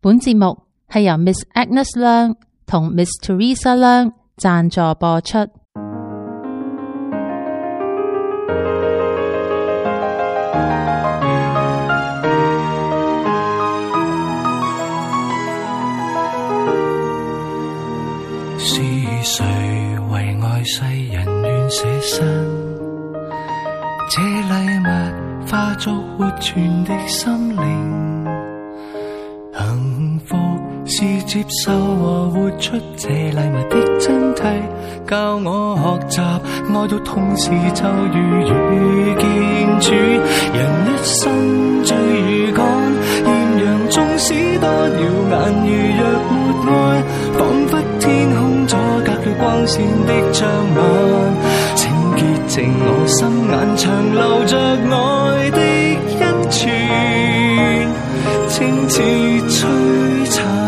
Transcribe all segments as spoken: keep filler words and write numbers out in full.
本節目係由 Miss Agnes 梁同 Miss Teresa 梁贊助播出。 是誰為愛世人願捨身？這禮物化作活存的心靈，幸福是接受和活出這禮物的真諦，教我學習愛到同時就如遇見主。人一生最如趕，豔陽縱使多耀眼，如若沒愛，彷彿天空阻隔了光線的障礙。請潔淨我心眼，長留着愛的恩泉，清似璀璨。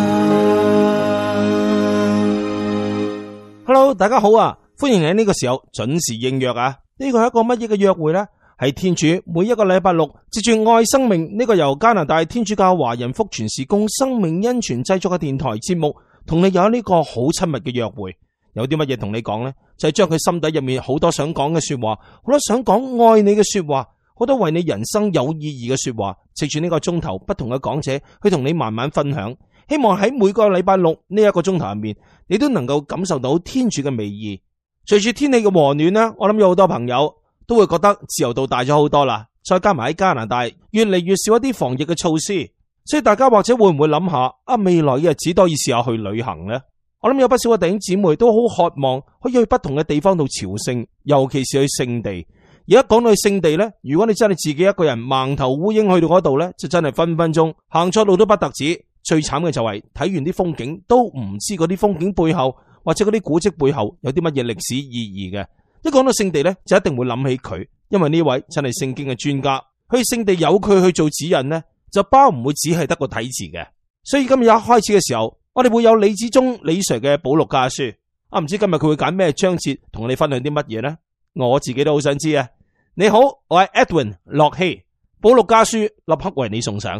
Hello， 大家好啊！歡迎你喺呢個時候準時應約啊！呢個係一個乜嘢嘅約會呢？係天主每一個禮拜六接住愛生命呢個由加拿大天主教華人福傳事工生命恩泉製作嘅電台節目，同你有呢個好親密嘅約會。有啲乜嘢同你講呢？就係將佢心底入面好多想講嘅說話，好多想講愛你嘅說話，好多為你人生有意義嘅說話，藉住呢個鐘頭不同嘅講者去同你慢慢分享。希望喺每個禮拜六呢一個鐘頭入面，你都能夠感受到天主嘅美意。隨住天氣嘅和暖呢，我諗有好多朋友都會覺得自由度大咗好多啦。再加埋喺加拿大越嚟越少一啲防疫嘅措施，所以大家或者會唔會諗下啊，未來嘅日子都可以試下去旅行呢？我諗有不少嘅弟兄姊妹都好渴望可以去不同嘅地方度朝聖，尤其是去聖地。而家講到去聖地呢，如果你真係自己一個人盲頭烏蠅去到嗰度呢，就真係分分鐘行錯路都不特止。最慘嘅就係睇完啲風景都唔知嗰啲風景背後或者嗰啲古蹟背後有啲乜嘢歷史意義嘅。一講到聖地呢，就一定會諗起佢，因為呢位真係聖經嘅專家。去聖地有佢去做指引呢，就包唔會只係得個睇字嘅。所以今日一開始嘅時候，我哋會有李子忠李 Sir 嘅保祿家書啊，唔知今日佢會揀咩章節同我哋分享啲乜嘢呢？我自己都好想知啊！你好，我係 Edwin 洛希，保祿家書立刻為你送上。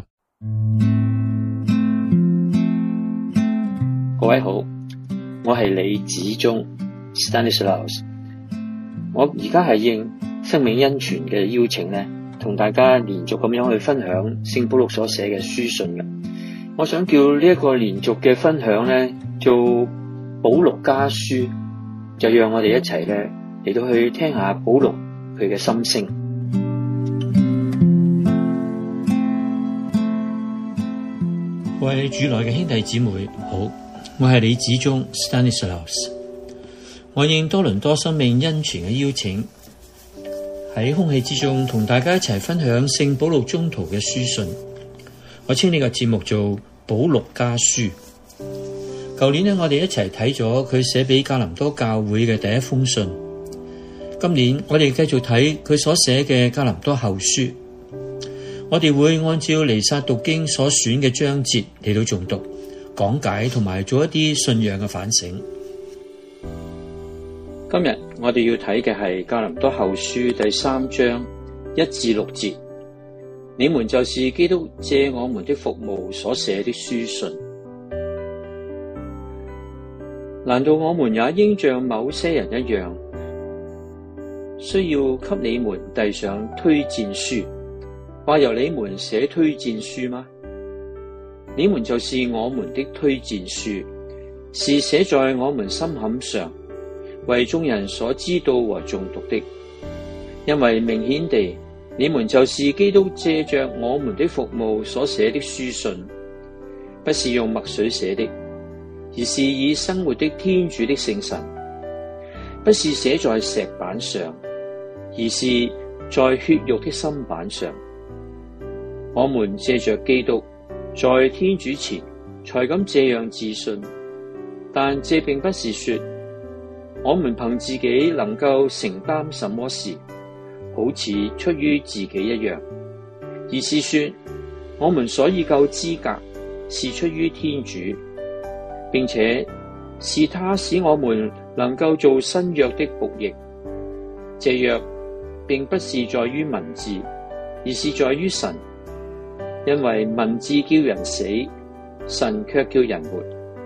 各位好，我係李子忠 Stanislaus。我而家係應生命恩泉嘅邀請咧，同大家連續咁樣去分享聖保祿所寫嘅書信嘅。我想叫呢一個連續嘅分享咧，做保祿家書，就讓我哋一齊咧嚟到去聽下保祿佢嘅心聲。各位主內嘅兄弟姊妹好。我係李子忠 Stanislaus， 我應多倫多生命恩泉嘅邀請，喺空氣之中同大家一齊分享聖保祿宗徒嘅書信。我稱呢個節目做保祿家書。舊年呢，我哋一齊睇咗佢寫俾格林多教會嘅第一封信。今年我哋繼續睇佢所寫嘅格林多後書。我哋會按照彌撒讀經所選嘅章節嚟到誦讀、講解同埋做一啲信仰嘅反省。今日我哋要睇嘅係格林多後書第三章一至六節。你們就是基督借我們的服務所寫的書信。難道我們也應像某些人一樣，需要給你們遞上推薦書，或由你們寫推薦書嗎？你們就是我們的推薦書，是寫在我們心坎上，為眾人所知道和誦讀的。因為明顯地，你們就是基督借着我們的服務所寫的書信，不是用墨水寫的，而是以生活的天主的聖神，不是寫在石板上，而是在血肉的心板上。我們借着基督，在天主前才敢這樣自信，但這並不是說我們憑自己能夠承擔什麼事，好似出於自己一樣，而是說我們所以夠資格是出於天主，並且是他使我們能夠做新約的僕役。這約並不是在於文字，而是在於神。因為文字叫人死， 神卻叫人活。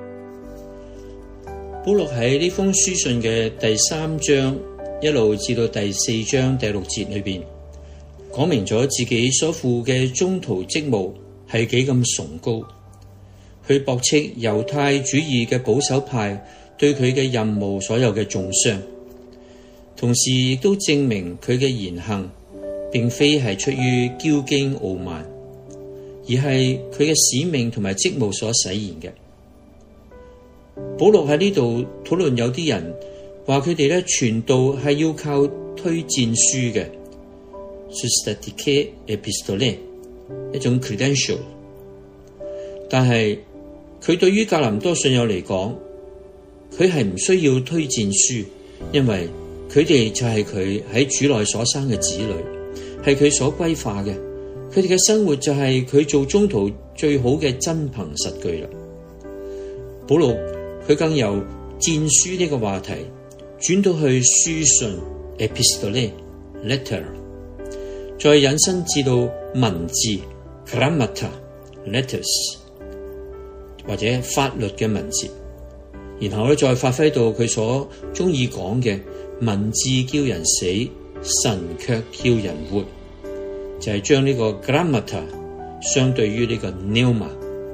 保羅喺呢封書信嘅第三章一路至到第四章第六節裏邊，講明咗自己所負嘅宗徒職務係幾咁崇高，去駁斥猶太主義嘅保守派對佢嘅任務所有嘅中傷，同時亦都證明佢嘅言行並非係出於驕矜傲慢，而係佢嘅使命同埋職務所實現嘅。保羅喺呢度討論有啲人話佢哋咧傳道係要靠推薦書嘅 systematic epistole 一種 credential， 但係佢對於格林多信友嚟講，佢係唔需要推薦書，因為佢哋就係佢喺主內所生嘅子女，係佢所歸化嘅，佢哋嘅生活就係佢做宗徒最好嘅真憑實據啦。保羅佢更由薦書呢個話題轉到去書信 epistole letter， 再引申至到文字 grammata letters 或者法律嘅文字，然後咧再發揮到佢所中意講嘅文字叫人死，神卻叫人活，就係、是、將呢個 grammata 相對於呢個 pneuma。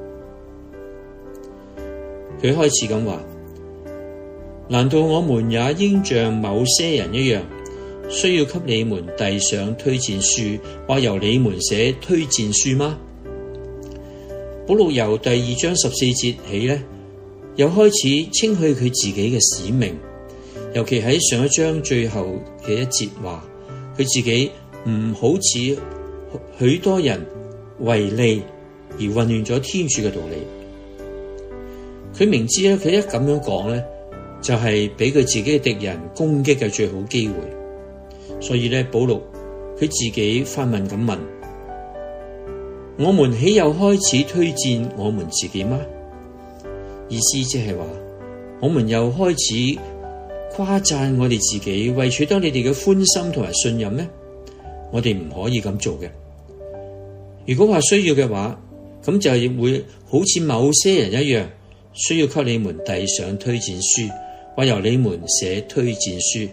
佢開始咁話：難道我們也應像某些人一樣，需要給你們遞上推薦書，或由你們寫推薦書嗎？保羅由第二章十四節起呢，又開始稱許佢自己嘅使命，尤其喺上一章最後嘅一節話，佢自己唔好似許多人為利而混亂咗天主嘅道理。佢明知咧，佢一咁樣講咧，就係俾佢自己嘅敵人攻擊嘅最好機會。所以咧，保羅佢自己發問咁問：我們豈有開始推薦我們自己嗎？意思即係話，我們又開始誇讚我哋自己，為取得你哋嘅歡心同埋信任咩？我哋唔可以咁做嘅。如果話需要嘅話，咁就係會好似某些人一樣，需要給你們遞上推薦書，或由你們寫推薦書。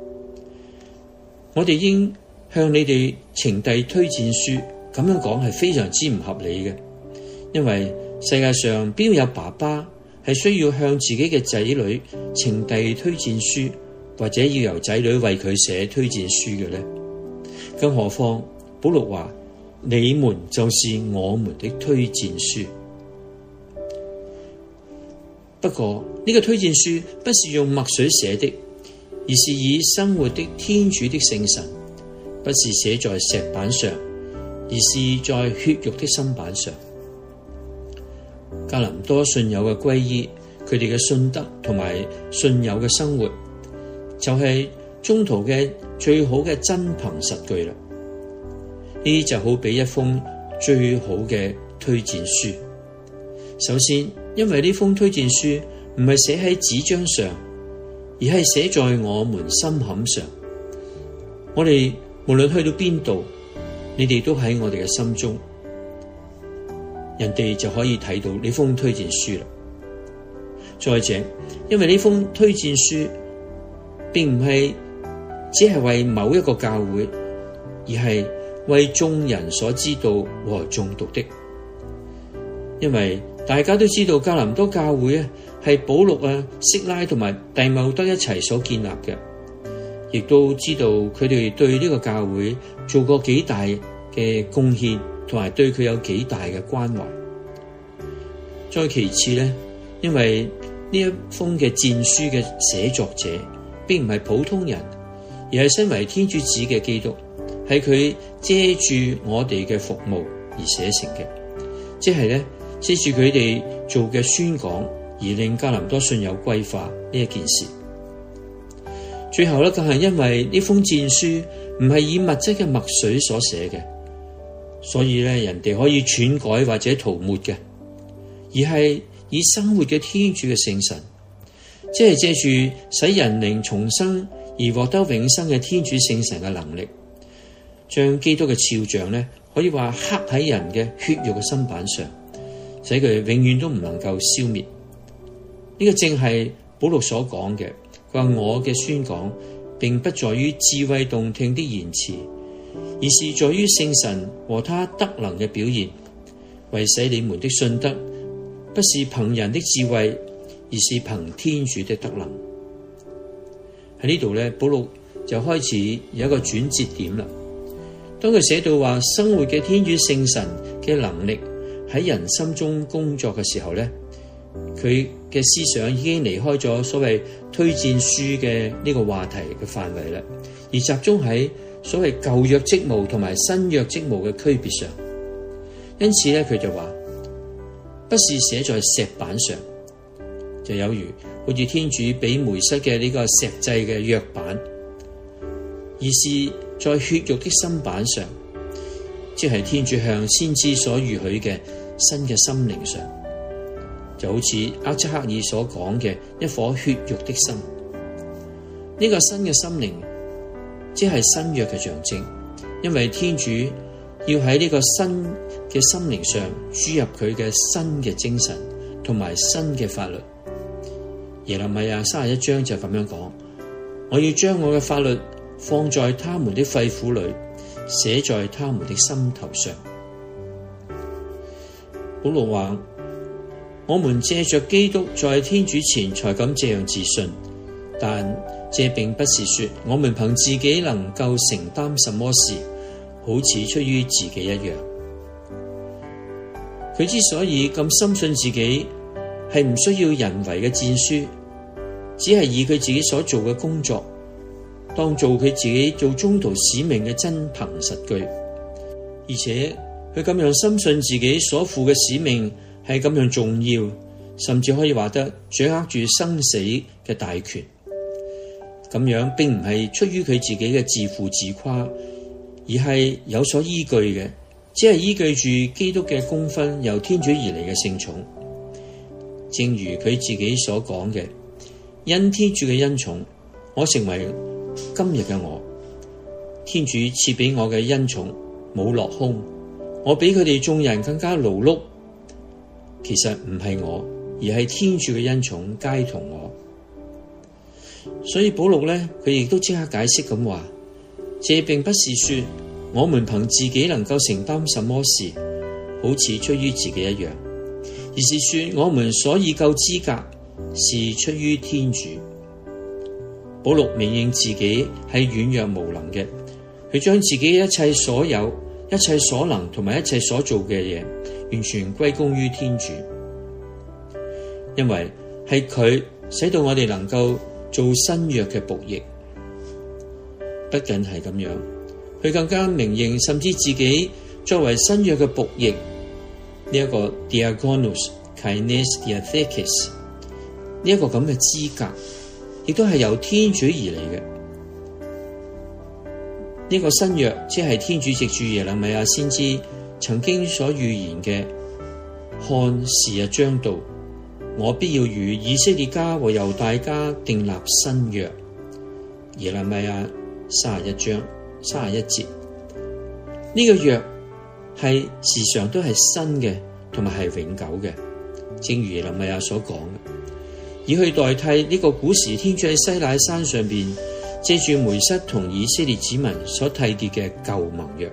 我哋應向你哋呈遞推薦書，咁樣講係非常之唔合理嘅，因為世界上邊有爸爸係需要向自己嘅仔女呈遞推薦書，或者要由仔女為佢寫推薦書嘅呢？更何況保祿話：你們就是我們的推薦書。不過呢個推薦書不是用墨水寫的，而是以生活的天主的聖神，不是寫在石板上，而是在血肉的心板上。格林多信友嘅皈依，佢哋嘅信德同埋信友嘅生活，就係宗徒嘅最好嘅真憑實據啦。呢就好比一封最好嘅推薦書。首先，因為呢封推薦書唔係寫喺紙張上，而係寫在我們心坎上。我哋無論去到邊度，你哋都喺我哋嘅心中，人哋就可以睇到呢封推薦書啦。再者，因為呢封推薦書並唔係只係為某一個教會，而係為眾人所知道和誦讀的。因為大家都知道格林多教會啊，係保祿啊、息拉同埋弟茂德一齊所建立嘅，亦都知道佢哋對呢個教會做過幾大嘅貢獻，同埋對佢有幾大嘅關懷。再其次咧，因為呢一封嘅薦書嘅寫作者並唔係普通人，而係身為天主子嘅基督，係佢借住我哋嘅服務而寫成嘅，即係咧借住佢哋做嘅宣講而令格林多信友歸化呢一件事。最後咧，更係因為呢封薦書唔係以物質嘅墨水所寫嘅，所以咧人哋可以篡改或者塗抹嘅，而係以生活嘅天主嘅聖神，即係借住使人靈重生而獲得永生嘅天主聖神嘅能力，將基督嘅肖像咧，可以話刻喺人嘅血肉嘅心板上， 使佢永遠都唔能夠消滅。呢、這個正係保祿所講嘅，佢話我嘅宣講並不在於智慧動聽的言辭，而是在於聖神和他德能嘅表現，為使你們的信德不是憑人的智慧，而是憑天主的德能。喺呢度咧，保祿就開始有一個轉折點啦。當佢寫到話生活嘅天主聖神嘅能力喺人心中工作嘅時候咧，佢嘅思想已經離開咗所謂推薦書嘅呢個話題嘅範圍啦，而集中喺所謂舊約職務同埋新約職務嘅區別上。因此咧，佢就話不是寫在石板上，就有如好似天主俾梅瑟嘅呢個石製嘅約版，而是在血肉的心板上，即係天主向先知所預許嘅新嘅心靈上，就好似厄則克耳所講嘅一顆血肉的心。呢、這個新嘅心靈即係新約嘅象徵，因為天主要喺呢個新嘅心靈上注入佢嘅新嘅精神同埋新嘅法律。耶肋米亞三十一章就咁樣講，我要將我嘅法律放在他們的肺腑裏，寫在他們的心頭上。保祿話，我們借着基督在天主前才敢這樣自信，但這並不是說我們憑自己能夠承擔什麼事，好似出於自己一樣。佢之所以咁深信自己係唔需要人為嘅薦書，只係以佢自己所做嘅工作當做佢自己做宗徒使命嘅真憑實據，而且佢咁樣深信自己所負嘅使命係咁樣重要，甚至可以話得掌握住生死嘅大權。咁樣並唔係出於佢自己嘅自負自誇，而係有所依據嘅，只係依據住基督嘅功勳由天主而嚟嘅聖寵。正如佢自己所講嘅，因天主嘅恩寵，我成為今日嘅我。天主賜俾我嘅恩寵冇落空，我比佢哋眾人更加勞碌。其實唔係我，而係天主嘅恩寵偕同我。所以保祿呢，佢亦都即刻解釋咁話，這並不是說我們憑自己能夠承擔什麼事，好似出於自己一樣，而是說我們所以夠資格是出於天主。保祿明認自己係軟弱無能嘅，佢將自己一切所有、一切所能同埋一切所做嘅嘢，完全歸功於天主，因為係佢使到我哋能夠做新約嘅僕役。不僅係咁樣，佢更加明認，甚至自己作為新約嘅僕役呢一個 diakonos kaines diathekes 呢一個咁嘅資格，亦都係由天主而嚟嘅。呢、這個新約即係天主藉住耶肋米亞先知曾經所預言嘅，看時日將到，我必要與以色列家和猶大家訂立新約。耶肋米亞三十一章三十一節，呢、這個約係時常都係新嘅，同埋係永久嘅，正如耶肋米亞所講嘅，以去代替呢個古時天主喺西乃山上邊借住梅瑟同以色列子民所締結嘅舊盟約。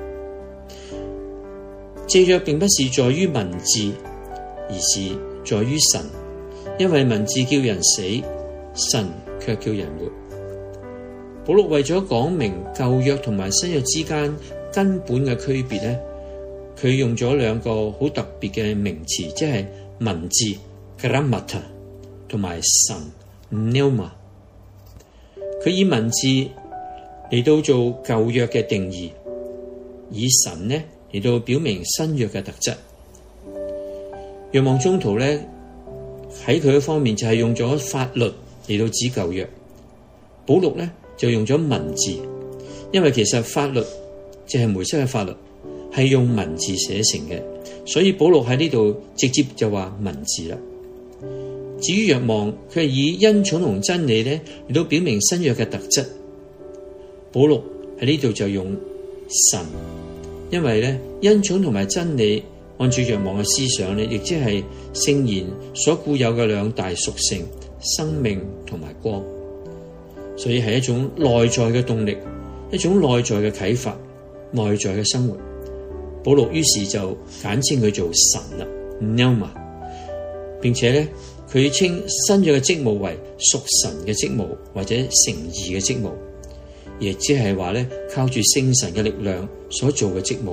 這約並不是在於文字，而是在於神，因為文字叫人死，神卻叫人活。保祿為咗講明舊約同埋新約之間根本嘅區別咧，佢用咗兩個好特別嘅名詞，即係文字 grammata 同埋神 pneuma。佢以文字嚟到做舊約嘅定義，以神呢嚟到表明新約嘅特質。若望宗徒咧喺佢嘅方面就係用咗法律嚟到指舊約，保祿咧就用咗文字，因為其實法律就係梅瑟嘅法律，係用文字寫成嘅，所以保祿喺呢度直接就話文字啦。至於若望，佢係以恩寵同真理咧嚟到表明新約嘅特質，保祿喺呢度就用神，因為咧恩寵同埋真理按照若望嘅思想咧，亦即係聖言所固有嘅兩大屬性：生命同埋光。所以係一種內在嘅動力，一種內在嘅啟發，內在嘅生活。保祿於是就簡稱佢做神啦 ，Pneuma， 並且咧佢稱新約嘅職務為屬神嘅職務或者成義嘅職務，亦即係話咧靠住聖神嘅力量所做嘅職務。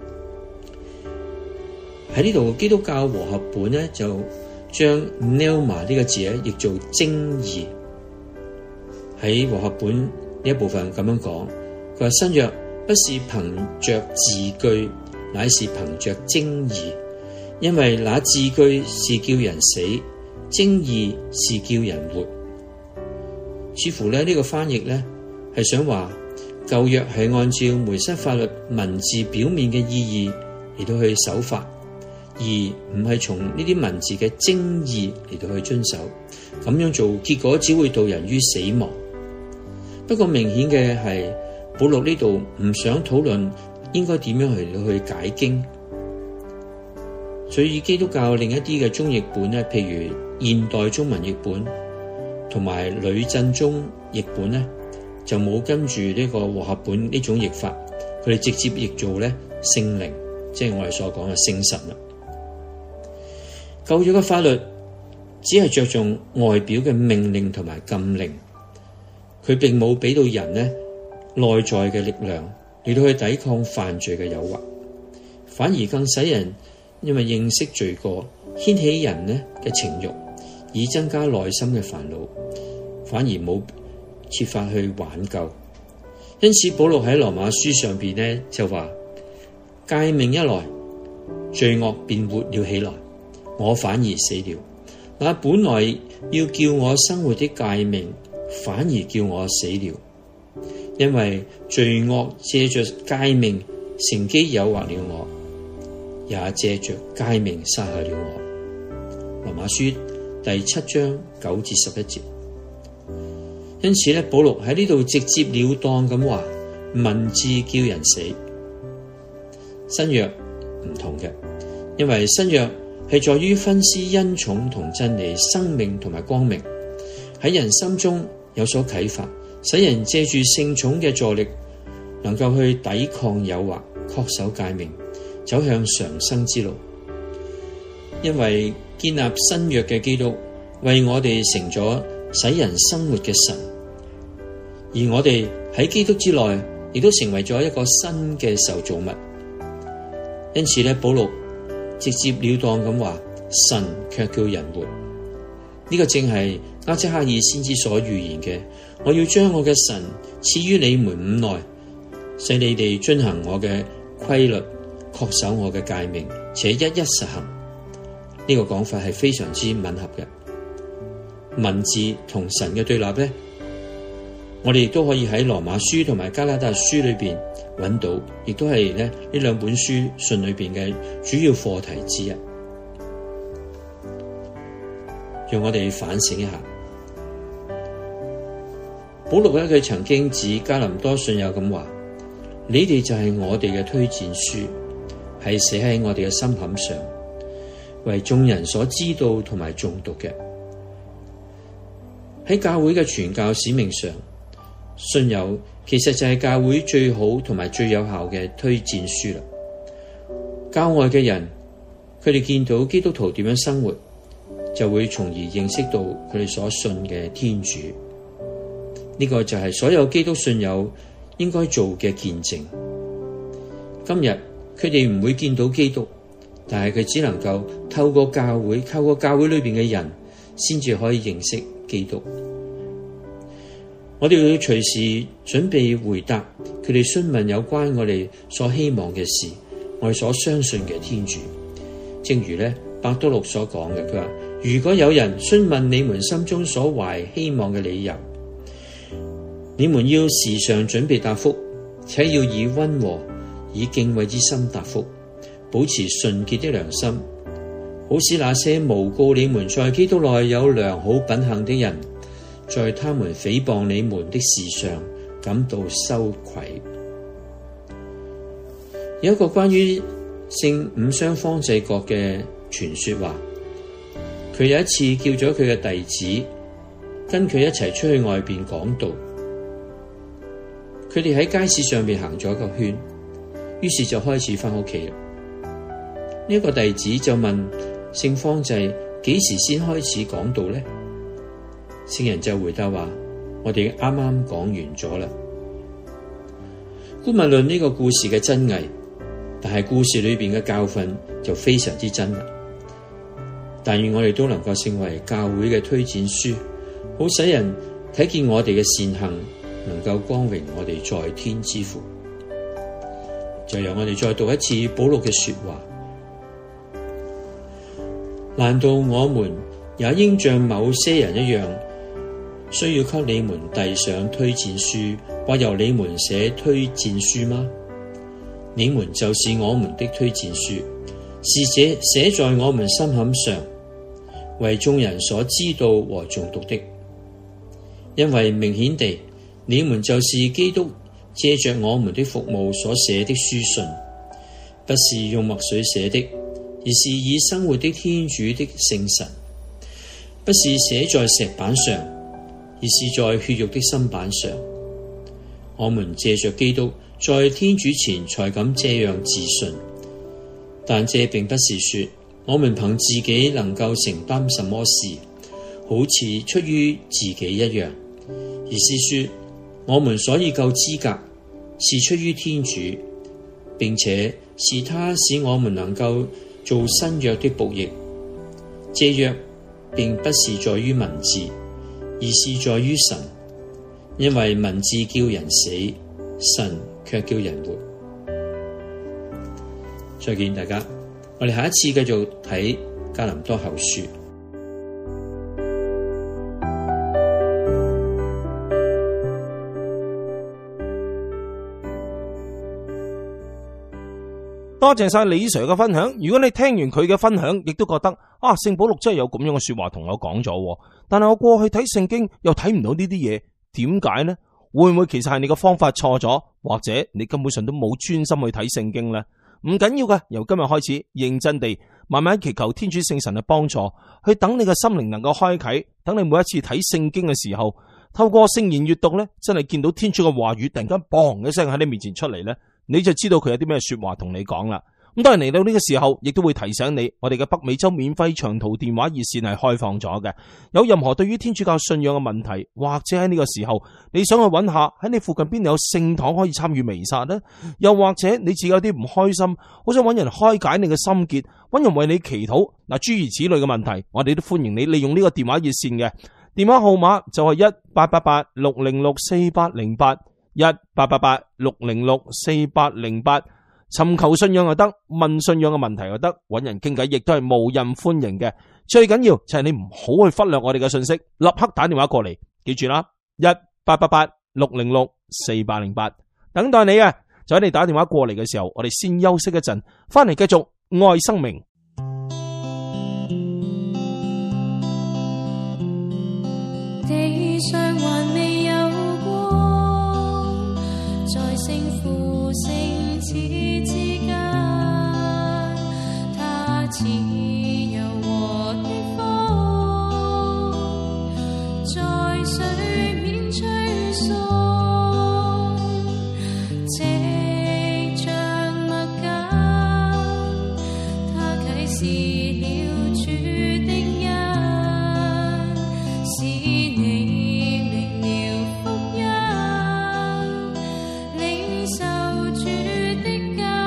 喺呢度基督教和合本咧就將 Pneuma 呢個字咧譯做精義。喺和合本呢一部分咁樣講，佢話新約不是憑着字句，乃是憑着精義，因為那字句是叫人死，精義是叫人活。似乎咧呢個翻譯咧係想話舊約係按照梅瑟法律文字表面嘅意義嚟到去守法，而唔係從呢啲文字嘅精義嚟到去遵守。咁樣做結果只會導人於死亡。不過明顯嘅係保祿呢度唔想討論應該點樣去去解經，所以基督教另一啲嘅中譯本咧，譬如現代中文譯本同埋呂振中譯本咧，就冇跟住呢個和合本呢種譯法，佢哋直接譯做咧聖靈，即係我哋所講嘅聖神啦。舊約嘅法律只係着重外表嘅命令同埋禁令，佢並冇俾到人咧內在嘅力量嚟到去抵抗犯罪嘅誘惑，反而更使人因為認識罪過，掀起人咧嘅情慾，以增加內心嘅煩惱，反而冇設法去挽救。因此保祿喺羅馬書上邊咧就話：誡命一來，罪惡便活了起來，我反而死了。那本來要叫我生活的誡命，反而叫我死了。因為罪惡借着誡命乘機誘惑了我，也借着誡命殺害了我。羅馬書第七章九至十一節。因此咧，保祿喺呢度直接了當咁話，文字叫人死。新約唔同嘅，因為新約係在於分施恩寵同真理、生命同埋光明，喺人心中有所啟發，使人借住聖寵嘅助力，能夠去抵抗誘惑，恪守誡命，走向常生之路。因為建立新約嘅基督為我哋成咗使人生活嘅神，而我哋喺基督之內亦都成為咗一個新嘅受造物。因此咧，保祿直接了當咁話，神卻叫人活。呢、這個正係厄則克耳先知所預言嘅，我要將我嘅神賜於你們五內，使你哋遵行我嘅規律，恪守我嘅誡命，且一一實行。呢、這個講法係非常之吻合嘅。文字同神嘅對立咧，我哋亦都可以喺羅馬書同埋加拉達書裏邊揾到，亦都係咧呢兩本書信裏邊嘅主要課題之一。讓我哋反省一下，保祿咧佢曾經指加林多信友咁話：你哋就係我哋嘅推薦書，係寫喺我哋嘅心坎上，為眾人所知道同埋誦讀嘅。喺教會嘅傳教使命上，信友其實就係教會最好同埋最有效嘅推薦書啦。教外嘅人，佢哋見到基督徒點樣生活，就會從而認識到佢哋所信嘅天主。呢、這個就係所有基督信友應該做嘅見證。今日佢哋唔會見到基督，但係佢只能夠透過教會，透過教會裏邊嘅人，先至可以認識基督。我哋要隨時準備回答佢哋詢問有關我哋所希望嘅事，我哋所相信嘅天主。正如咧伯多祿所講嘅，佢話：如果有人詢問你們心中所懷希望嘅理由，你們要時常準備答覆，且要以溫和、以敬畏之心答覆，保持純潔的良心，好使那些誣告你們在基督內有良好品行的人，在他們誹謗你們的事上感到羞愧。有一個關於聖五雙方濟各嘅傳說話，佢有一次叫咗佢嘅弟子跟佢一齊出去外邊講道，佢哋喺街市上面行咗一個圈，於是就開始返屋企啦。呢、這、一個弟子就問聖方濟幾時先開始講道呢？聖人就回答話：我哋啱啱講完咗啦。姑勿論呢個故事嘅真偽，但係故事裏邊嘅教訓就非常之真啦。但願我哋都能夠成為教會嘅推薦書，好使人睇見我哋嘅善行，能夠光榮我哋在天之父。就由我哋再讀一次保祿嘅說話。難道我們也應像某些人一樣，需要給你們遞上推薦書，或由你們寫推薦書嗎？你們就是我們的推薦書，是寫寫在我們心坎上，為眾人所知道和誦讀的。因為明顯地，你們就是基督借着我們的服務所寫的書信，不是用墨水寫的，而是以生活的天主的聖神，不是寫在石板上，而是在血肉的心板上。我們借着基督在天主前才敢這樣自信，但這並不是說我們憑自己能夠承擔什麼事，好似出於自己一樣，而是說我們所以夠資格是出於天主，並且是他使我們能夠做新約的僕役。這約並不是在於文字，而是在於神，因為文字叫人死，神卻叫人活。再見大家，我哋下一次繼續睇格林多後書。 多謝晒李 Sir 嘅分享。如果你聽完佢嘅分享，亦都覺得啊，聖保祿真係有咁樣嘅說話同我講咗，但係我過去睇聖經又睇唔到呢啲嘢，點解呢？會唔會其實係你嘅方法錯咗，或者你根本上都冇專心去睇聖經呢？唔緊要嘅，由今日開始認真地慢慢祈求天主聖神嘅幫助，去等你嘅心靈能夠開啟，等你每一次睇聖經嘅時候，透過聖言閱讀呢，真係見到天主嘅話語突然間嘣一聲喺你面前出嚟呢，你就知道佢有啲咩說話同你講啦。咁當然嚟到呢個時候，亦都會提醒你，我哋嘅北美洲免費長途電話熱線係開放咗嘅。有任何對於天主教信仰嘅問題，或者喺呢個時候你想去揾下喺你附近邊度有聖堂可以參與彌撒呢？又或者你自己有啲唔開心，好想揾人開解你嘅心結，揾人為你祈禱嗱，諸如此類嘅問題，我哋都歡迎你利用呢個電話熱線嘅電話號碼就係一八八八六零六四八零八一八八八六零六四八零八。尋求信仰又得，問信仰嘅問題又得，揾人傾偈亦都係無任歡迎嘅。最緊要就係你唔好去忽略我哋嘅信息，立刻打電話過嚟，記住啦，一八八八六零六四八零八，等待你啊！就喺你打電話過嚟嘅時候，我哋先休息一陣，翻嚟繼續愛生命。 地上還未有光，在聖父聖子之間，他似柔和的風，在水面吹送，直像麥繭，他啟示了主的恩，使你明了福音，領受主的教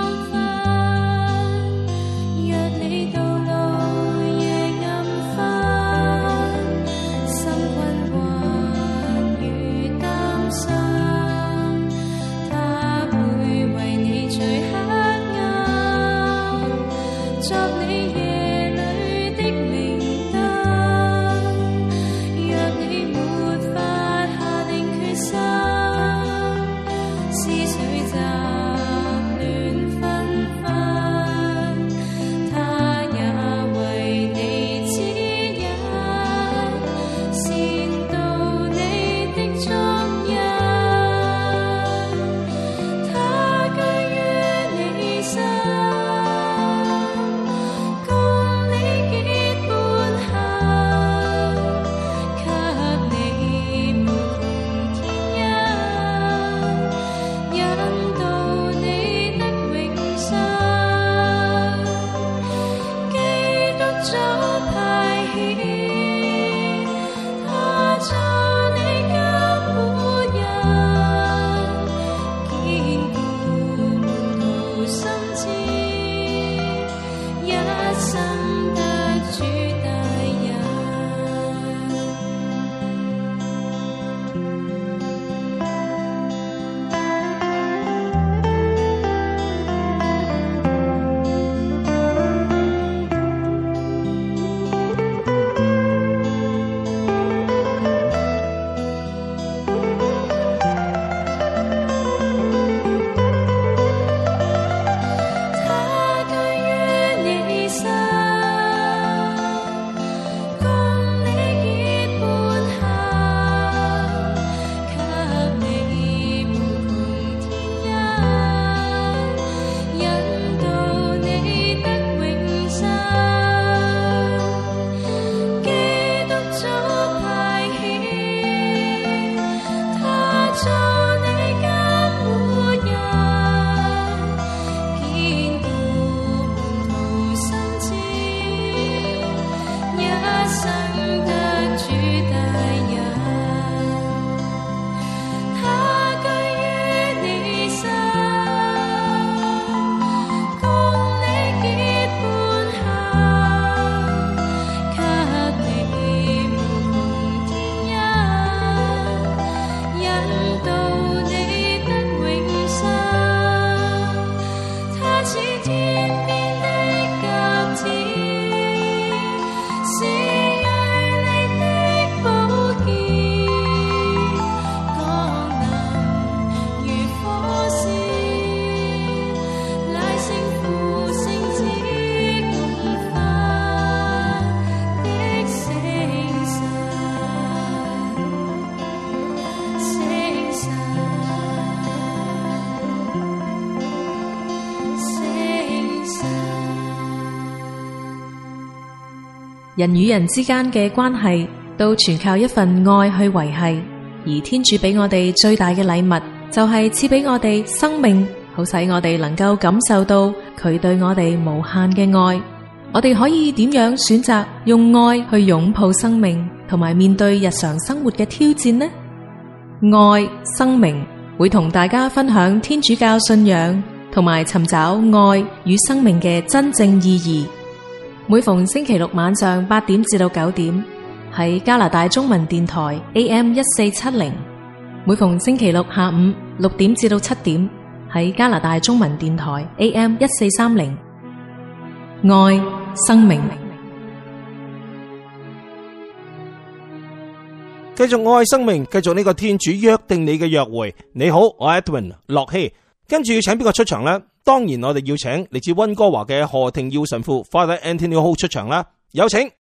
人與人之間嘅關係都全靠一份愛去維繫，而天主俾我哋最大嘅禮物，就係賜俾我哋生命，好使我哋能夠感受到佢對我哋無限嘅愛。我哋可以點樣選擇用愛去擁抱生命，同埋面對日常生活嘅挑戰呢？愛生命會同大家分享天主教信仰，同埋尋找愛與生命嘅真正意義。每逢星期六晚上八點至到九點，喺加拿大中文電台 A M 一四七零；每逢星期六下午六點至到七點，喺加拿大中文電台 A M 一四三零。愛生命， 繼續愛生命，繼續呢個天主約定你嘅約會。你好，我係 Edwin 駱曦。跟住要請邊個出場呢？當然我哋要請嚟自溫哥華嘅何庭耀神父 Father Anthony Ho 出場啦。有請。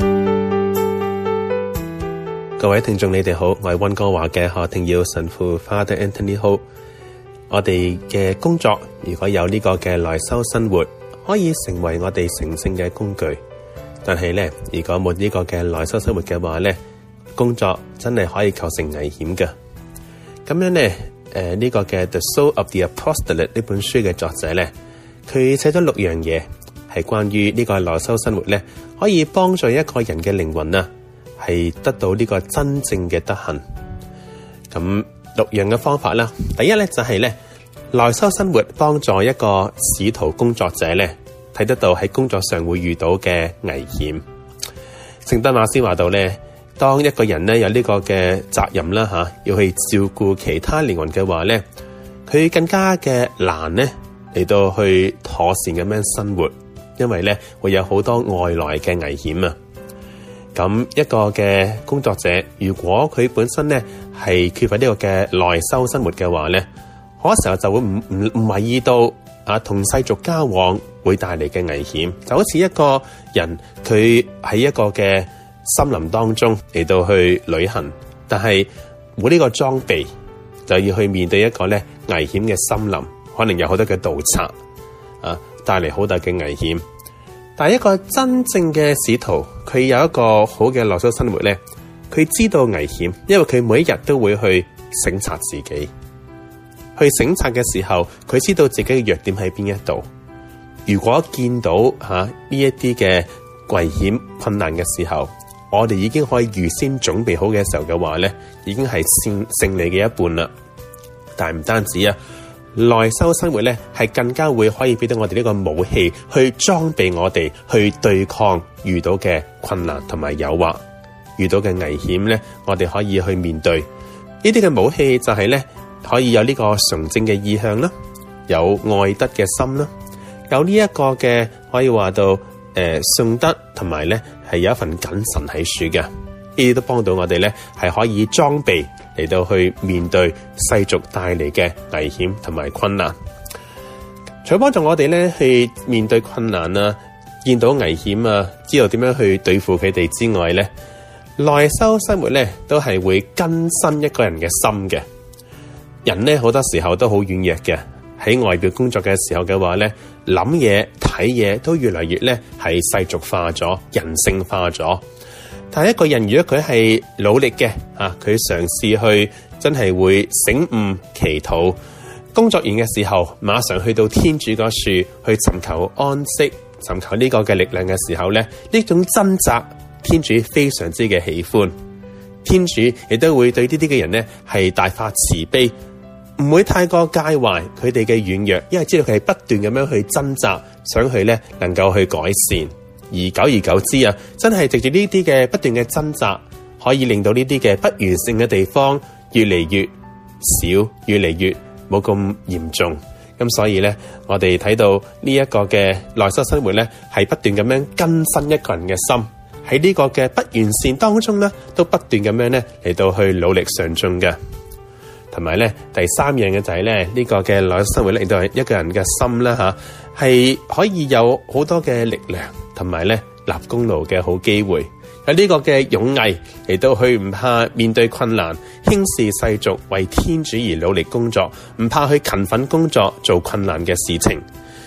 各位聽眾你哋好，我係溫哥華嘅何庭耀神父 Father Anthony Ho。我哋嘅工作如果有呢個嘅內修生活，可以成為我哋成聖嘅工具，但係咧，如果冇呢個嘅內修生活嘅話咧，工作真係可以構成危險嘅。咁樣咧，誒、呃、呢、這個嘅 The Soul of the Apostolate 呢本書嘅作者咧，佢寫咗六樣嘢，係關於呢個內修生活咧，可以幫助一個人嘅靈魂啊，係得到呢個真正嘅德行。咁六樣嘅方法啦，第一咧就係、是、咧。內修生活幫助一個使徒工作者咧，睇得到喺工作上會遇到嘅危險。聖德馬斯話到咧，當一個人咧有呢個嘅責任啦吓，要去照顧其他靈魂嘅話咧，佢更加嘅難咧嚟到去妥善咁樣生活，因為咧會有好多外來嘅危險啊。咁一個嘅工作者，如果佢本身咧係缺乏呢個嘅內修生活嘅話咧，嗰時候就會唔唔唔懷疑到啊，同世俗交往會帶嚟嘅危險，就好似一個人佢喺一個嘅森林當中嚟到去旅行，但係冇呢個裝備，就要去面對一個咧危險嘅森林，可能有好多嘅盜賊啊，帶嚟好大嘅危險。但係一個真正嘅使徒，佢有一個好嘅內修生活咧，佢知道危險，因為佢每一日都會去省察自己。去省察嘅時候，佢知道自己嘅弱點喺邊一度。如果見到吓呢一啲嘅危險困難嘅時候，我哋已經可以預先準備好嘅時候嘅話咧，已經係勝勝利嘅一半啦。但係唔單止啊，內修生活咧係更加會可以俾到我哋呢個武器，去裝備我哋去對抗遇到嘅困難同埋誘惑，遇到嘅危險咧，我哋可以去面對。呢啲嘅武器就係咧。可以有呢個純正嘅意向啦，有愛德嘅心啦，有呢一個嘅可以話到誒信德，同埋咧係有一份謹慎喺處嘅，呢啲都幫到我哋咧係可以裝備嚟到去面對世俗帶嚟嘅危險同埋困難。除咗幫助我哋咧去面對困難啊，見到危險啊，知道點樣去對付佢哋之外咧，內修生活咧都係會更新一個人嘅心嘅。人咧好多時候都好軟弱嘅，喺外表工作嘅時候嘅話咧，諗嘢睇嘢都越嚟越咧係世俗化咗、人性化咗。但係一個人如果佢係努力嘅啊，佢嘗試去真係會醒悟祈禱，工作完嘅時候馬上去到天主嗰處去尋求安息、尋求呢個嘅力量嘅時候咧，呢種掙扎天主非常之嘅喜歡，天主亦都會對呢啲嘅人咧係大發慈悲。唔會太過介懷佢哋嘅軟弱，因為知道佢係不斷咁樣去掙扎，想去咧能夠去改善。而久而久之啊，真係藉住呢啲嘅不斷嘅掙扎，可以令到呢啲嘅不完善嘅地方越嚟越少，越嚟越冇咁嚴重。咁所以咧，我哋睇到呢一個嘅內修生活咧，係不斷咁樣更新一個人嘅心，喺呢個嘅不完善當中咧，都不斷咁樣咧嚟到去努力上進嘅。同埋咧，第三樣嘅就係咧，呢個嘅內修生活咧，亦都係一個人嘅心啦吓，係可以有好多嘅力量，同埋咧立功勞嘅好機會，有呢個嘅勇毅嚟到去唔怕面對困難，輕視世俗，為天主而努力工作，唔怕去勤奮工作，做困難嘅事情。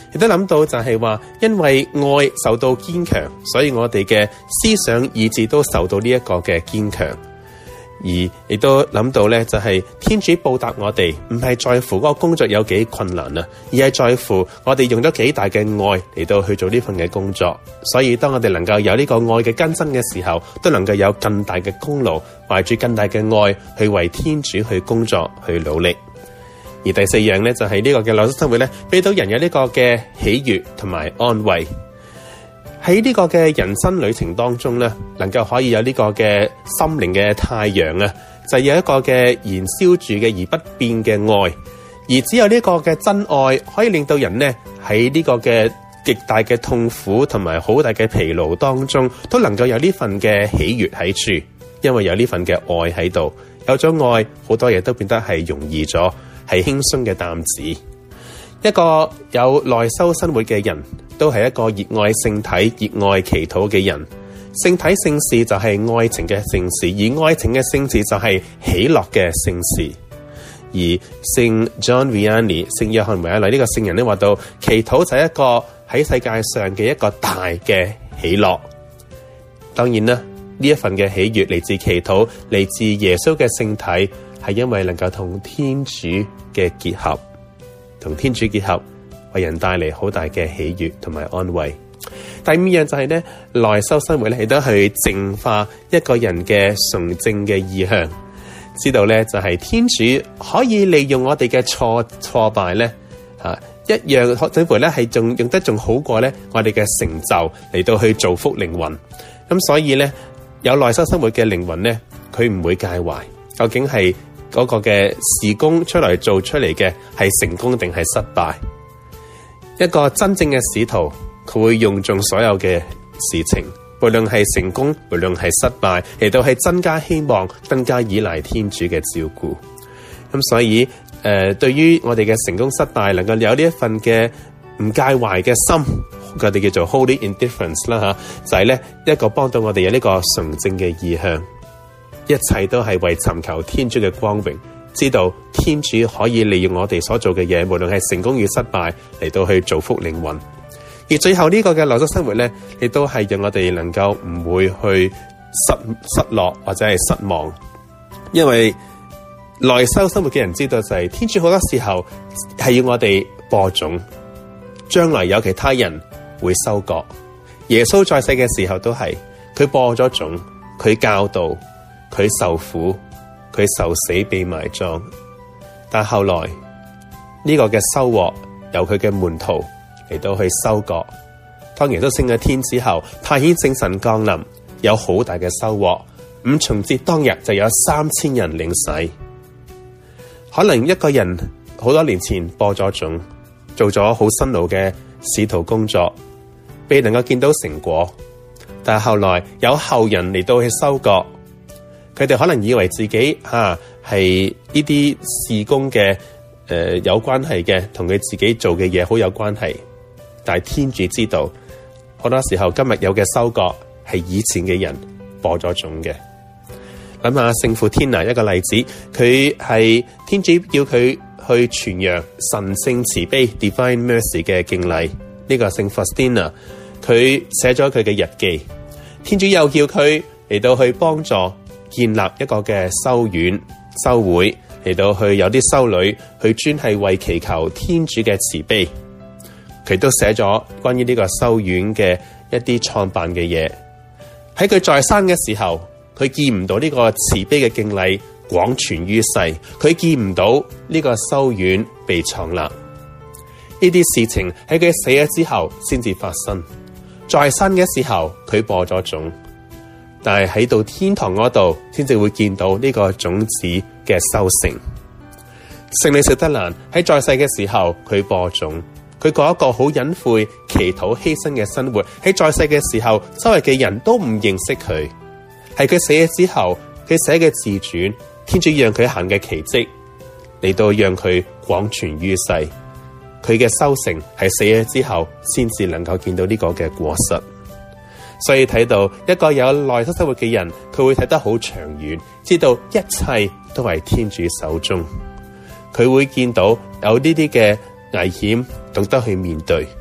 亦都諗到就係話，因為愛受到堅強，所以我哋嘅思想意志都受到呢一個嘅堅強。而亦都諗到咧，就係天主報答我哋，唔係在乎嗰個工作有幾困難啊，而係在乎我哋用咗幾大嘅愛嚟到去做呢份嘅工作。所以當我哋能夠有呢個愛嘅根身嘅時候，都能夠有更大嘅功勞，懷住更大嘅愛去為天主去工作去努力。而第四樣咧，就係呢個嘅內修生活咧，俾到人有呢個嘅喜悅同埋安慰。喺呢個嘅人生旅程當中咧，能夠可以有呢個嘅心靈嘅太陽啊，就係有一個嘅燃燒住嘅而不變嘅愛，而只有呢個嘅真愛可以令到人呢喺呢個嘅極大嘅痛苦同埋好大嘅疲勞當中，都能夠有呢份嘅喜悅喺處，因為有呢份嘅愛喺度，有咗愛，好多嘢都變得係容易咗，係輕鬆嘅擔子。一個有內修生活嘅人，都係一個熱愛聖體、熱愛祈禱嘅人。聖體聖事就係愛情嘅聖事，而愛情嘅聖事就係喜樂嘅聖事。而聖 John Vianney 聖約翰維亞納呢個聖人咧話到，祈禱就係一個喺世界上嘅一個大嘅喜樂。當然啦，呢一份嘅喜悅嚟自祈禱，嚟自耶穌嘅聖體，係因為能夠同天主嘅結合。同天主結合，為人帶嚟好大嘅喜悅同埋安慰。第五樣就係咧，內修生活咧，亦都去淨化一個人嘅純正嘅意向。知道咧，就係天主可以利用我哋嘅挫挫敗咧，啊，一樣甚至乎咧係仲用得仲好過咧，我哋嘅成就嚟到去造福靈魂。咁所以咧，有內修生活嘅靈魂咧，佢唔會介懷究竟係嗰個嘅事工出嚟做出嚟嘅係成功定係失敗。一個真正嘅使徒，佢會用盡所有嘅事情，無論係成功，無論係失敗，嚟到係增加希望，更加依賴天主嘅照顧。咁所以誒、呃，對於我哋嘅成功失敗，能夠有呢一份嘅唔介懷嘅心，佢哋叫做 Holy Indifference 啦吓，就係咧一個幫到我哋有呢個純正嘅意向。一切都係為尋求天主嘅光榮，知道天主可以利用我哋所做嘅嘢，無論係成功與失敗，嚟到去造福靈魂。而最後呢個嘅內修生活咧，亦都係讓我哋能夠唔會去失失落或者係失望，因為內修生活嘅人知道就係天主好多時候係要我哋播種，將來有其他人會收割。耶穌在世嘅時候都係佢播咗種，佢教導。佢受苦，佢受死被埋葬，但後來呢、這個嘅收穫由佢嘅門徒嚟到去收割。當耶穌升咗天之後，派遣聖神降臨，有好大嘅收穫。五旬節當日就有三千人領洗。可能一個人好多年前播咗種，做咗好辛勞嘅使徒工作，未能夠見到成果，但係後來有後人嚟到去收割。佢哋可能以為自己吓係呢啲事工嘅誒、呃、有關係嘅，同佢自己做嘅嘢好有關係。但係天主知道，好多時候今日有嘅收割係以前嘅人播咗種嘅。諗下聖父天拿一個例子，佢係天主叫佢去傳揚神聖慈悲 Divine Mercy 嘅敬禮。呢、這個聖 Faustina 佢寫咗佢嘅日記，天主又叫佢嚟到去幫助。建立一個嘅修院修會，嚟到去有啲修女去專係為祈求天主嘅慈悲。佢都寫咗關於呢個修院嘅一啲創辦嘅嘢。喺佢在生嘅時候，佢見唔到呢個慈悲嘅敬禮廣傳於世，佢見唔到呢個修院被創立。呢啲事情喺佢死咗之後先至發生。在生嘅時候，佢播咗種。但係喺到天堂嗰度，先至會見到呢個種子嘅收成。聖女小德蘭喺在世嘅時候，佢播種，佢過一個好隱晦、祈禱、犧牲嘅生活。喺在世嘅時候，周圍嘅人都唔認識佢。係佢死咗之後，佢寫嘅自傳，天主讓佢行嘅奇蹟，嚟到讓佢廣傳於世。佢嘅收成係死咗之後，先至能夠見到呢個嘅果實。所以睇到一個有內修生活嘅人，佢會睇得好長遠，知道一切都係天主手中。佢會見到有呢啲嘅危險，懂得去面對，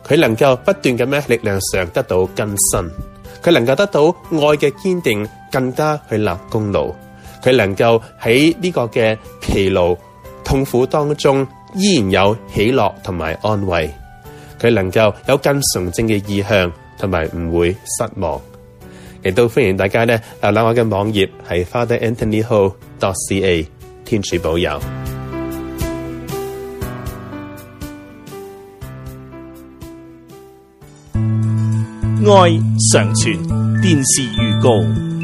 佢能夠不斷咁樣力量上得到更新，佢能夠得到愛嘅堅定，更加去立功勞，佢能夠喺呢個嘅疲勞痛苦當中依然有喜樂同埋安慰，佢能夠有更純正嘅意向，同埋唔會失望。亦都歡迎大家咧瀏覽我嘅網頁係 father anthony ho dot c a， 天主保佑。 愛常傳電視預告。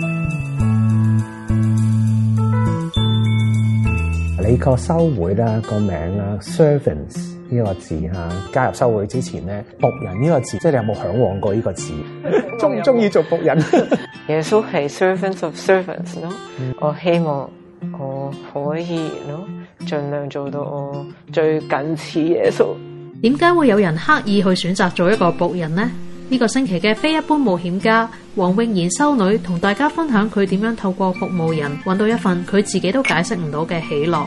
你個修會啦個名啦 servants 呢個字啊，加入修會之前咧，僕人呢個字，即係你有冇向往過呢個字？中唔中意做僕人？ 耶穌係 servants of servants 咯、嗯，我希望我可以咯，盡量做到我最近似耶穌。 點解會有人刻意去選擇做一個僕人呢？呢、這個星期嘅非一般冒險家黃詠賢修女同大家分享佢點樣透過服務人揾到一份佢自己都解釋唔到嘅喜樂。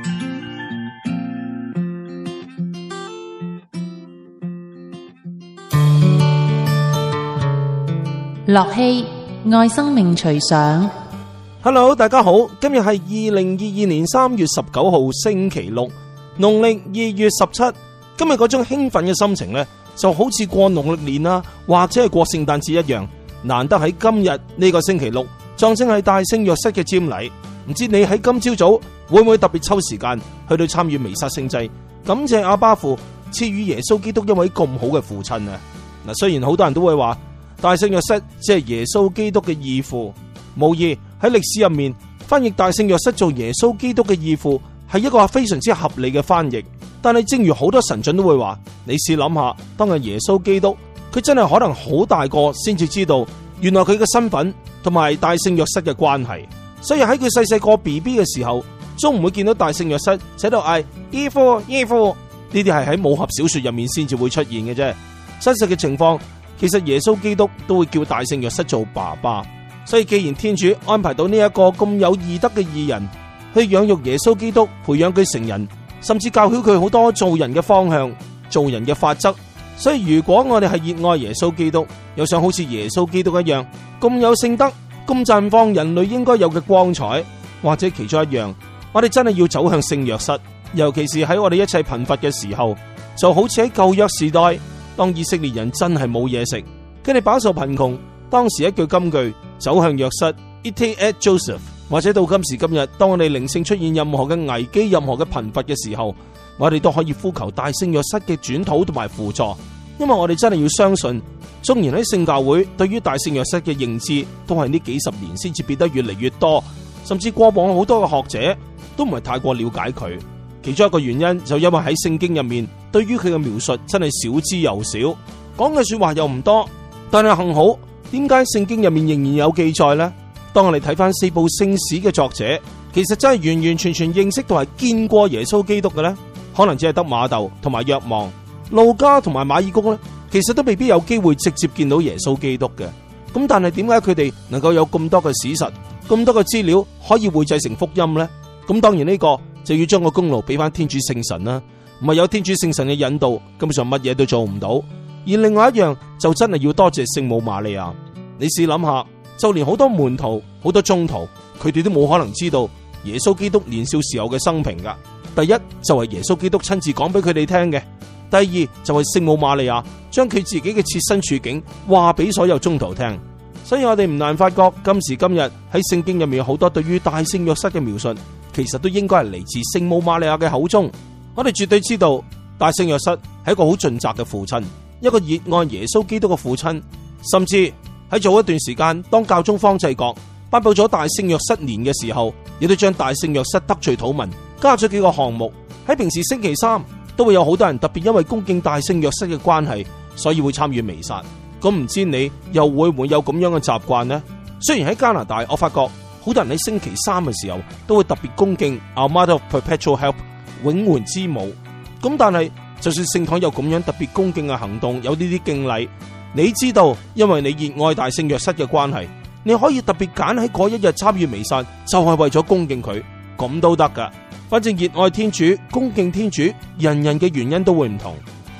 樂熙愛生命隨想。 Hello， 大家好，今日係二零二二年三月十九號星期六，農曆二月十七。今日嗰種興奮嘅心情呢，就好似過農曆年啦，或者係過聖誕節一樣，難得喺今日呢個星期六，撞正係大聖若瑟嘅瞻禮。唔知你喺今朝早會唔會特別抽時間去到參與彌撒聖祭，感謝阿爸父賜予耶穌基督一位咁好嘅父親啊！嗱，雖然好多人都會話大聖若瑟只係耶穌基督嘅義父，無疑喺歷史入面翻譯大聖若瑟做耶穌基督嘅義父係一個非常之合理嘅翻譯。但係正如好多神準都會話，你試諗下，當日耶穌基督佢真係可能好大個先至知道原來佢嘅身份同埋大聖若瑟嘅關係，所以喺佢細細個 B B 嘅時候，都唔會見到大聖若瑟喺度嗌義父義父，呢啲係喺武俠小說入面先至會出現嘅啫。真實嘅情況，其實耶穌基督都會叫大聖若瑟做爸爸。所以既然天主安排到呢一個咁有義德嘅義人去養育耶穌基督，培養佢成人，甚至教曉佢好多做人嘅方向、做人嘅法則。所以如果我哋係熱愛耶穌基督，又想好似耶穌基督一樣咁有聖德、咁綻放人類應該有嘅光彩，或者其中一樣，我哋真係要走向聖若瑟。尤其是喺我哋一切貧乏嘅時候，就好似喺舊約時代，當以色列人真係冇嘢食，佢哋飽受貧窮，當時一句金句，走向若瑟 Ite et Joseph。或者到今時今日，當我哋靈性出現任何嘅危機、任何嘅貧乏嘅時候，我哋都可以呼求大聖若瑟嘅轉禱同埋輔助，因為我哋真係要相信，縱然喺聖教會對於大聖若瑟嘅認知都係呢幾十年先至變得越嚟越多，甚至過往好多嘅學者都唔係太過了解佢。其中一個原因就因為喺聖經入面對於佢嘅描述真係少之又少，講嘅說話又唔多，但係幸好，點解聖經入面仍然有記載呢？當我哋睇翻四部聖史嘅作者，其實真係完完全全認識到係見過耶穌基督嘅呢，可能只係得馬竇同埋若望，路加同埋馬爾谷呢，其實都未必有機會直接見到耶穌基督嘅。咁但係點解佢哋能夠有咁多嘅史實、咁多嘅資料可以匯製成福音呢？咁當然呢個就要將個功勞俾翻天主聖神啦，唔係有天主聖神嘅引導，根本上乜嘢都做唔到。而另外一樣就真係要多謝聖母瑪利亞。你試諗下，就連好多門徒、好多宗徒，佢哋都冇可能知道耶穌基督年少時候嘅生平噶。第一就係耶穌基督親自講俾佢哋聽嘅，第二就係聖母瑪利亞將佢自己嘅切身處境話俾所有宗徒聽。所以我哋唔難發覺，今時今日喺聖經入面有好多對於大聖若瑟嘅描述，其實都應該係嚟自聖母瑪利亞嘅口中。我哋絕對知道大聖若瑟係一個好盡責嘅父親，一個熱愛耶穌基督嘅父親，甚至喺早一段時間，當教宗方濟各頒布咗大聖若瑟年嘅時候，亦都將大聖若瑟得罪禱文加咗幾個項目。喺平時星期三都會有好多人特別因為恭敬大聖若瑟嘅關係，所以會參與彌撒。咁唔知你又會唔會有咁樣嘅習慣呢？雖然喺加拿大，我發覺好多人喺星期三嘅時候都會特別恭敬 Our Mother of Perpetual Help 永援之母。咁但係就算聖堂有咁樣特別恭敬嘅行動，有呢啲敬禮，你知道，因為你熱愛大聖若瑟嘅關係，你可以特別揀喺嗰一日參與彌撒，就係為咗恭敬佢，咁都得噶。反正熱愛天主、恭敬天主，人人嘅原因都會唔同。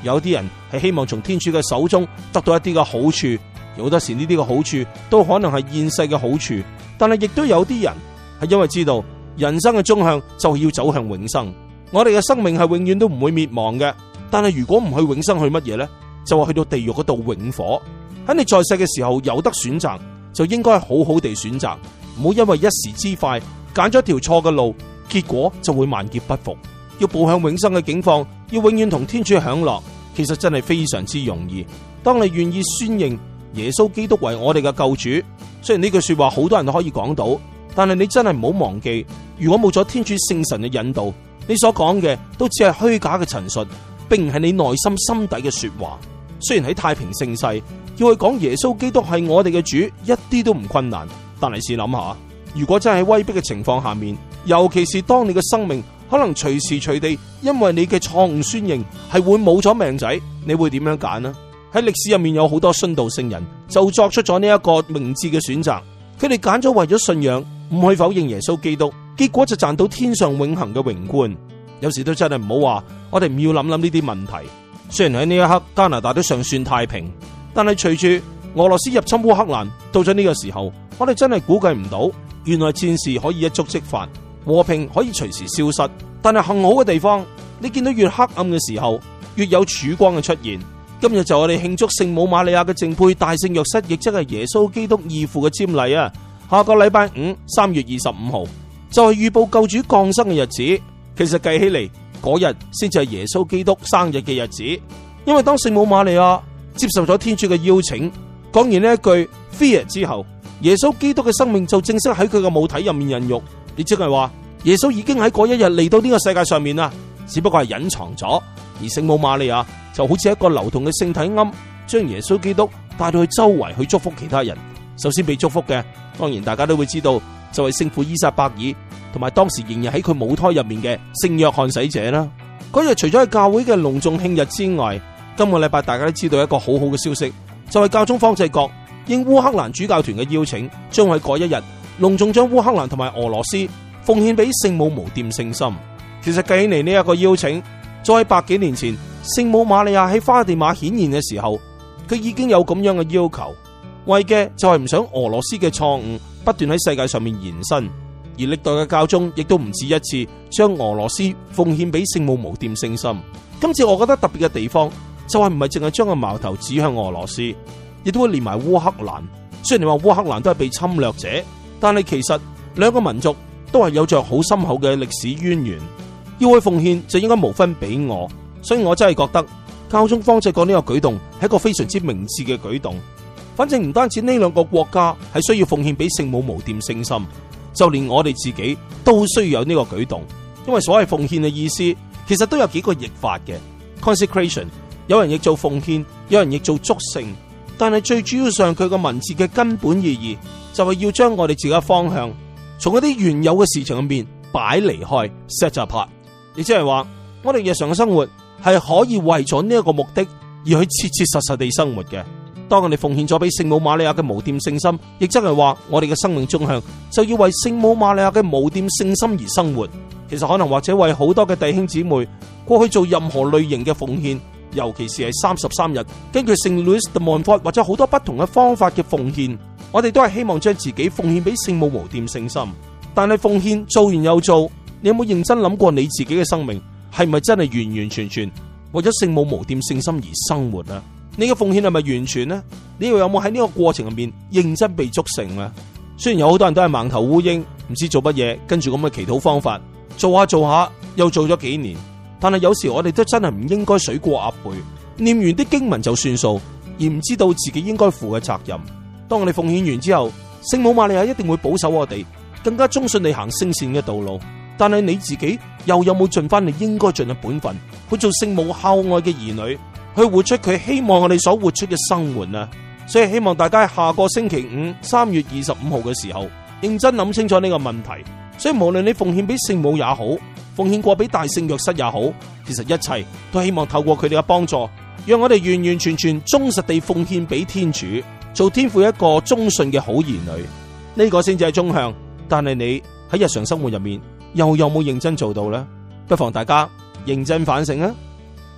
有啲人係希望從天主嘅手中得到一啲嘅好處，好多時呢啲嘅好處都可能係現世嘅好處，但係亦都有啲人係因為知道人生嘅終向就係要走向永生。我哋嘅生命係永遠都唔會滅亡嘅，但係如果唔去永生，去乜嘢呢？就話去到地獄嗰度永火。喺你在世嘅時候有得選擇，就應該好好地選擇，唔好因為一時之快揀咗條錯嘅路，結果就會萬劫不復。要步向永生嘅境況，要永遠同天主享樂，其實真係非常之容易。當你願意宣認耶穌基督為我哋嘅救主，雖然呢句說話好多人都可以講到，但係你真係唔好忘記，如果冇咗天主聖神嘅引導，你所講嘅都只係虛假嘅陳述，並唔係你內心心底嘅說話。雖然喺太平盛世要去講耶穌基督係我哋嘅主，一啲都唔困難，但係試諗下，如果真係喺威逼嘅情況下面，尤其是當你嘅生命可能隨時隨地因為你嘅錯誤宣認係會冇咗命仔，你會點樣揀呢？喺歷史入面有好多殉道聖人就作出咗呢一個明智嘅選擇，佢哋揀咗為咗信仰唔去否認耶穌基督，結果就賺到天上永恆嘅榮冠。有時都真係唔好話我哋唔要諗諗呢啲問題。雖然喺呢一刻加拿大都尚算太平，但係隨住俄羅斯入侵烏克蘭，到咗呢個時候，我哋真係估計唔到，原來戰事可以一觸即發，和平可以隨時消失。但係幸好嘅地方，你見到越黑暗嘅時候，越有曙光嘅出現。今日就我哋慶祝聖母瑪利亞嘅淨配大聖若瑟，亦即係耶穌基督義父嘅瞻禮啊！下個禮拜五三月二十五號就係預報救主降生嘅日子。其實計起嚟，嗰日先至係耶穌基督生日嘅日子，因為當聖母瑪利亞接受咗天主嘅邀請，講完呢一句 Fiat 之後，耶穌基督嘅生命就正式喺佢嘅母體入面孕育。亦即係話，耶穌已經喺嗰一日嚟到呢個世界上面啦，只不過係隱藏咗。而聖母瑪利亞就好似一個流動嘅聖體龕，將耶穌基督帶到去周圍去祝福其他人。首先被祝福嘅，當然大家都會知道，就係聖父伊撒伯爾，同埋當時仍然喺佢母胎入面嘅聖約翰洗者啦。嗰日除咗係教會嘅隆重慶日之外，今個禮拜大家都知道一個好好嘅消息，就係教宗方濟各應烏克蘭主教團嘅邀請，將喺嗰一日隆重將烏克蘭同埋俄羅斯奉獻俾聖母無玷聖心。其實計起嚟呢一個邀請，再喺百幾年前聖母瑪利亞喺花地瑪顯現嘅時候，佢已經有咁樣嘅要求，為嘅就係唔想俄羅斯嘅錯誤不斷喺世界上面延伸。而歷代嘅教宗亦都唔止一次將俄羅斯奉獻俾聖母無玷聖心。今次我覺得特別嘅地方就係唔係淨係將個矛頭指向俄羅斯，亦都會連埋烏克蘭。雖然你話烏克蘭都係被侵略者，但係其實兩個民族都係有着好深厚嘅歷史淵源，要去奉獻就應該無分彼我。所以我真係覺得教宗方濟各呢個舉動係一個非常之明智嘅舉動。反正唔單止呢兩個國家係需要奉獻俾聖母無玷聖心，就連我哋自己都需要有呢個舉動。因為所謂奉獻嘅意思其實都有幾個譯法嘅。 Consecration 有人譯做奉獻，有人譯做祝聖，但係最主要上佢個文字嘅根本意義就係要將我哋自己嘅方向從一啲原有嘅事情入面擺離開 set apart。 亦即係話我哋日常嘅生活係可以為咗呢一個目的而去切切實實地生活嘅。當我哋奉獻咗俾聖母瑪利亞嘅無玷聖心，亦即係話我哋嘅生命終向就要為聖母瑪利亞嘅無玷聖心而生活。其實可能或者為好多嘅弟兄姊妹過去做任何類型嘅奉獻，尤其是係三十三日根據聖 Louis de Montfort 或者好多不同嘅方法嘅奉獻，我哋都係希望將自己奉獻俾聖母無玷聖心。但係奉獻做完又做，你有冇認真諗過你自己嘅生命係咪真係完完全全為咗聖母無玷聖心而生活啊？你嘅奉獻係咪完全呢？你又有冇喺呢個過程入面認真被祝聖啊？雖然有好多人都係盲頭烏蠅，唔知做乜嘢，跟住咁嘅祈禱方法做下做下又做咗幾年，但係有時我哋都真係唔應該水過鴨背，念完啲經文就算數，而唔知道自己應該負嘅責任。當我哋奉獻完之後，聖母瑪利亞一定會保守我哋更加忠信地行聖善嘅道路。但係你自己又有冇盡翻你應該盡嘅本分，去做聖母孝愛嘅兒女，去活出佢希望我哋所活出嘅生活啊！所以希望大家喺下個星期五三月二十五號嘅時候認真諗清楚呢個問題。所以無論你奉獻俾聖母也好，奉獻過俾大聖若瑟也好，其實一切都希望透過佢哋嘅幫助，讓我哋完完全全忠實地奉獻俾天主，做天父一個忠信嘅好兒女。呢個先至係終向。但係你喺日常生活入面又有冇認真做到呢？不妨大家認真反省啊！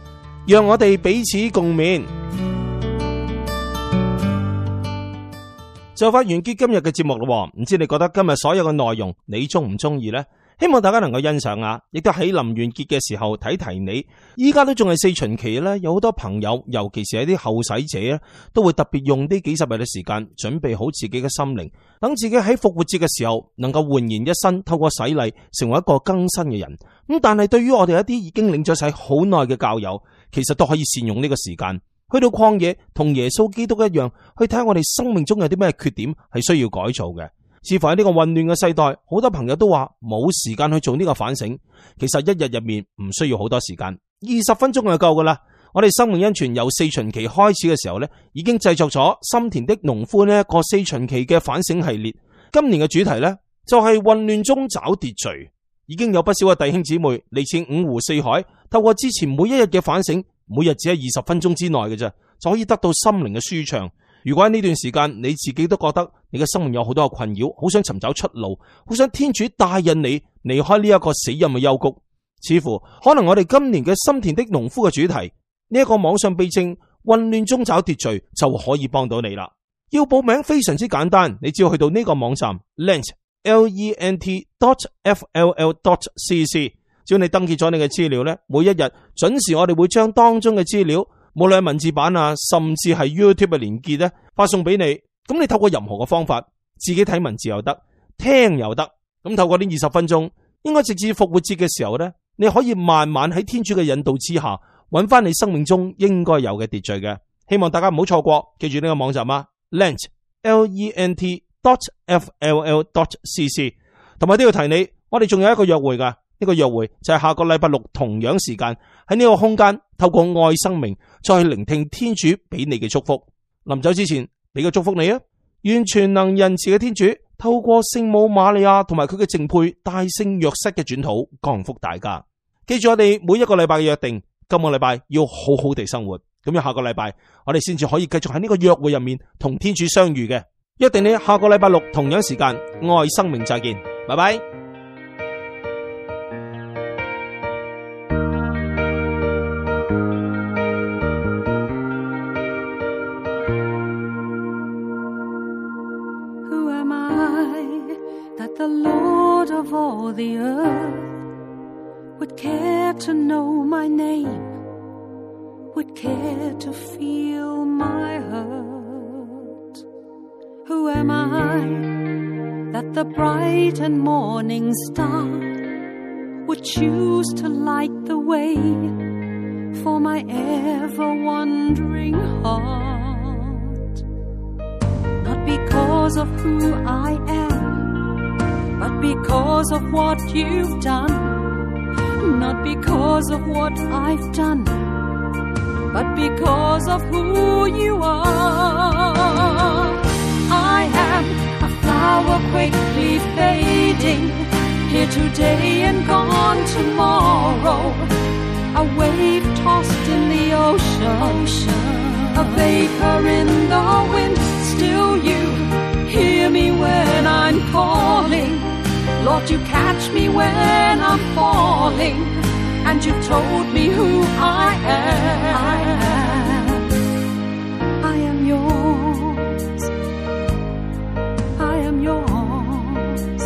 讓我哋彼此共勉。就快完結今日嘅節目咯，唔知你覺得今日所有嘅內容你中唔中意呢？希望大家能夠欣賞啊，亦都喺臨完結嘅時候提提你。依家都仲係四旬期咧，有好多朋友，尤其是係啲後使者咧，都會特別用呢幾十日嘅時間準備好自己嘅心靈，等自己喺復活節嘅時候能夠煥然一新，透過洗禮成為一個更新嘅人。咁但係對於我哋一啲已經領咗洗好耐嘅教友，其實都可以善用呢個時間，去到曠野同耶穌基督一樣，去睇下我哋生命中有啲咩缺點係需要改造嘅。似乎喺呢個混亂嘅世代，好多朋友都話冇時間去做呢個反省。其實一日入面唔需要好多時間，二十分鐘就夠噶啦。我哋生命恩泉由四旬期開始嘅時候呢，已經製作咗心田的農夫呢一個四旬期嘅反省系列。今年嘅主題呢，就係混亂中找秩序。已經有不少嘅弟兄姊妹嚟自五湖四海，透過之前每一日嘅反省，每日只係二十分鐘之內嘅啫，就可以得到心靈嘅舒暢。如果喺呢段時間你自己都覺得你嘅生命有好多嘅困擾，好想尋找出路，好想天主帶引你離開呢一個死蔭嘅幽谷，似乎可能我哋今年嘅心田的農夫嘅主題呢一個網上秘證混亂中找秩序就可以幫到你啦。要報名非常之簡單，你只要去到呢個網站 lent l e n t dot f l l dot c c， 只要你登記咗你嘅資料呢，每一日準時我哋會將當中嘅資料，無論係文字版啊，甚至係 YouTube 嘅連結咧，發送俾你。咁你透過任何嘅方法，自己睇文字又得，聽又得。咁透過呢二十分鐘，應該直至復活節嘅時候咧，你可以慢慢喺天主嘅引導之下，揾翻你生命中應該有嘅秩序嘅。希望大家唔好錯過，記住呢個網站啊 ，lent l e n t dot f l l dot c c。同埋都要提你，我哋仲有一個約會噶。呢個約會就係下個禮拜六同樣時間喺呢個空間，透過愛生命再去聆聽天主俾你嘅祝福。臨走之前俾個祝福你啊！願全能仁慈嘅天主透過聖母瑪利亞同埋佢嘅淨配大聖若瑟嘅轉禱降福大家。記住我哋每一個禮拜嘅約定，今個禮拜要好好地生活，咁樣下個禮拜我哋先至可以繼續喺呢個約會入面同天主相遇嘅。約定你下個禮拜六同樣時間愛生命再見，拜拜。 The Lord of all the earth would care to know my name, would care to feel my hurt. Who am I that the bright and morning star would choose to light the way for my ever-wandering heart? Not because of who I am, but because of what you've done. Not because of what I've done, but because of who you are. I am a flower quickly fading, here today and gone tomorrow. A wave tossed in the ocean, ocean. A vapor in the wind. Still you hear me when I'm calling. Lord, you catch me when I'm falling, and you've told me who I am. I am, I am yours. I am yours.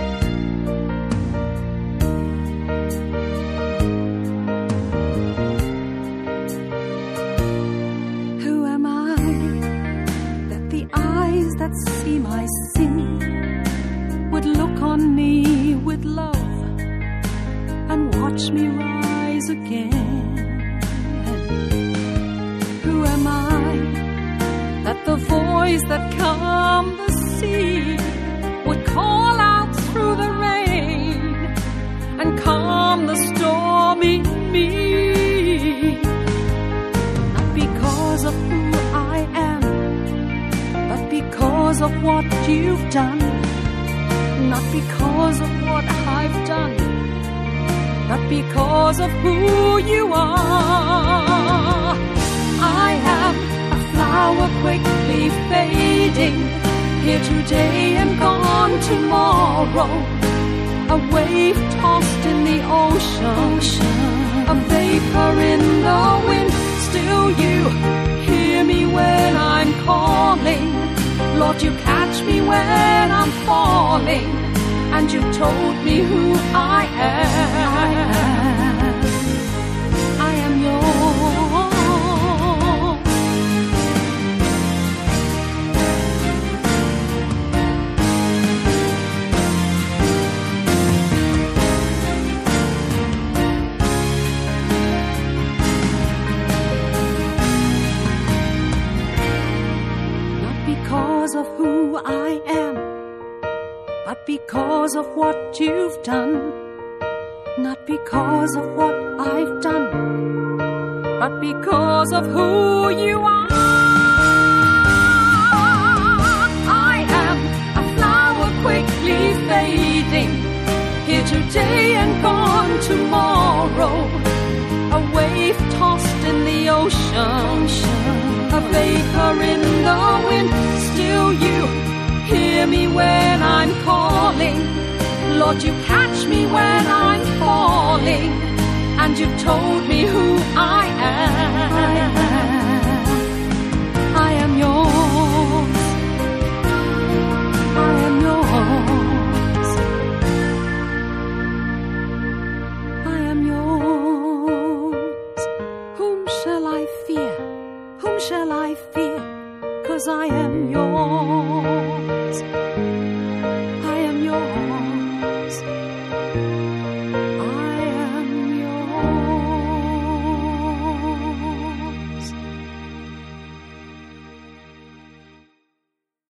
Who am I that the eyes that see my sin would look on me with love and watch me rise again? Who am I that the voice that calmed the sea would call out through the rain and calm the storm in me? Not because of who I am, but because of what you've done. Not because of what I've done, but because of who you are. I am a flower quickly fading, here today and gone tomorrow. A wave tossed in the ocean, ocean. a vapor in the wind. Still you hear me when I'm calling. Lord, you catch me when I'm falling, and you told me who I am. I am yours. Because of who I am, but because of what you've done. Not because of what I've done, but because of who you are. I am a flower quickly fading, here today and gone tomorrow. A wave tossed in the ocean, a vapor in the wind. Still you hear me when I'm calling. Lord, you catch me when I'm falling, and you've told me who I am.